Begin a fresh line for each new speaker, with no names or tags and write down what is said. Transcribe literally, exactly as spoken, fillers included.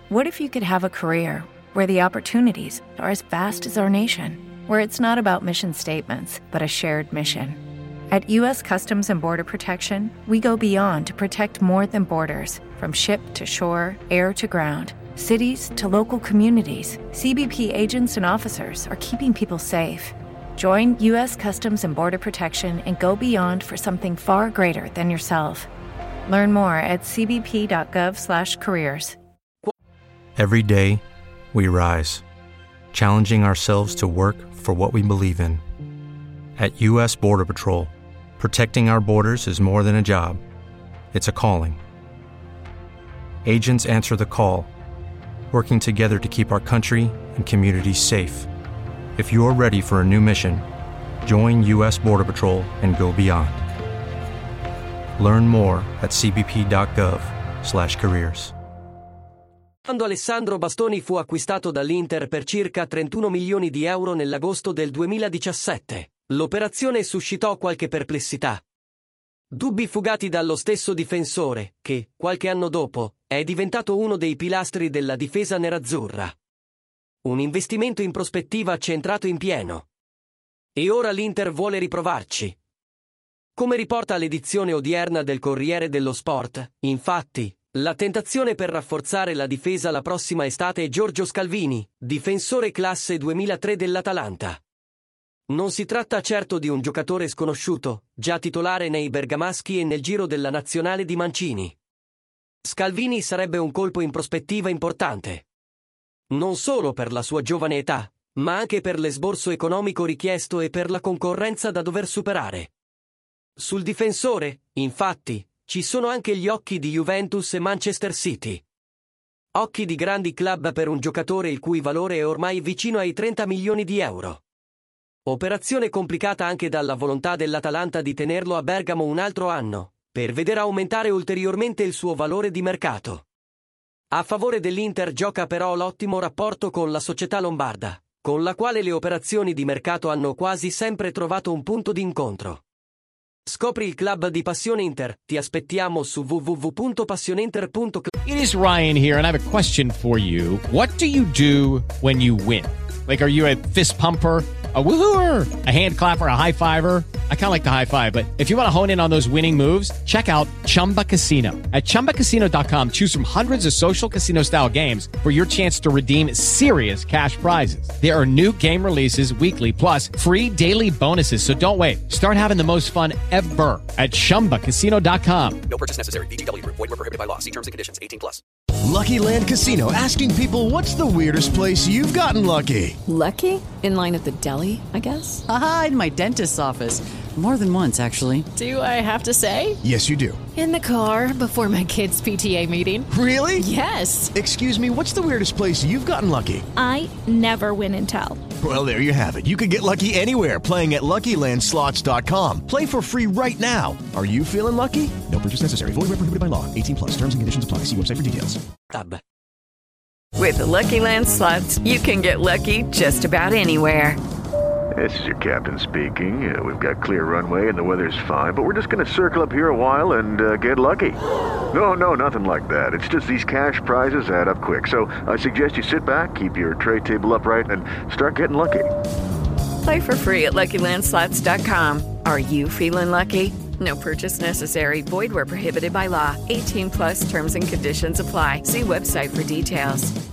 What if you could have a career where the opportunities are as vast as our nation, where it's not about mission statements, but a shared mission? At U S Customs and Border Protection, we go beyond to protect more than borders. From ship to shore, air to ground, cities to local communities, C B P agents and officers are keeping people safe. Join U S Customs and Border Protection and go beyond for something far greater than yourself. Learn more at c b p dot gov slash careers.
Every day, we rise, challenging ourselves to work for what we believe in. At U S Border Patrol, protecting our borders is more than a job. It's a calling. Agents answer the call, working together to keep our country and communities safe. If you're ready for a new mission, join U S Border Patrol and go beyond. Learn more at c b p dot gov slash careers.
Quando Alessandro Bastoni fu acquistato dall'Inter per circa trentuno milioni di euro nell'agosto del duemiladiciassette, l'operazione suscitò qualche perplessità. Dubbi fugati dallo stesso difensore, che, qualche anno dopo, è diventato uno dei pilastri della difesa nerazzurra. Un investimento in prospettiva centrato in pieno. E ora l'Inter vuole riprovarci. Come riporta l'edizione odierna del Corriere dello Sport, infatti, la tentazione per rafforzare la difesa la prossima estate è Giorgio Scalvini, difensore classe duemilatré dell'Atalanta. Non si tratta certo di un giocatore sconosciuto, già titolare nei bergamaschi e nel giro della nazionale di Mancini. Scalvini sarebbe un colpo in prospettiva importante. Non solo per la sua giovane età, ma anche per l'esborso economico richiesto e per la concorrenza da dover superare. Sul difensore, infatti, ci sono anche gli occhi di Juventus e Manchester City. Occhi di grandi club per un giocatore il cui valore è ormai vicino ai trenta milioni di euro. Operazione complicata anche dalla volontà dell'Atalanta di tenerlo a Bergamo un altro anno, per vedere aumentare ulteriormente il suo valore di mercato. A favore dell'Inter gioca però l'ottimo rapporto con la società lombarda, con la quale le operazioni di mercato hanno quasi sempre trovato un punto d'incontro. Scopri il club di Passione Inter. Ti aspettiamo su w w w punto passioneinter punto c l.
It is Ryan here, and I have a question for you. What do you do when you win? Like, are you a fist pumper, a woohooer, a hand clapper, a high fiver? I kind of like the high five, but if you want to hone in on those winning moves, check out Chumba Casino. At chumba casino dot com, choose from hundreds of social casino style games for your chance to redeem serious cash prizes. There are new game releases weekly, plus free daily bonuses. So don't wait. Start having the most fun ever at chumba casino dot com.
No purchase necessary. V G W Group. Void where prohibited by law. See terms and conditions. eighteen plus.
Lucky Land Casino, asking people, what's the weirdest place you've gotten lucky?
Lucky? In line at the deli, I guess?
Aha, in my dentist's office. More than once, actually.
Do I have to say?
Yes, you do.
In the car before my kids' P T A meeting.
Really?
Yes.
Excuse me, what's the weirdest place you've gotten lucky?
I never win and tell.
Well, there you have it. You can get lucky anywhere, playing at lucky land slots dot com. Play for free right now. Are you feeling lucky? No purchase necessary. Void where prohibited by law. eighteen plus. Terms and conditions apply. See website for details.
Tab.
With the Lucky Land Slots, you can get lucky just about anywhere.
This is your captain speaking. Uh, we've got clear runway and the weather's fine, but we're just going to circle up here a while and uh, get lucky. No, no, nothing like that. It's just these cash prizes add up quick. So I suggest you sit back, keep your tray table upright, and start getting lucky.
Play for free at lucky land slots dot com. Are you feeling lucky? No purchase necessary. Void where prohibited by law. eighteen plus terms and conditions apply. See website for details.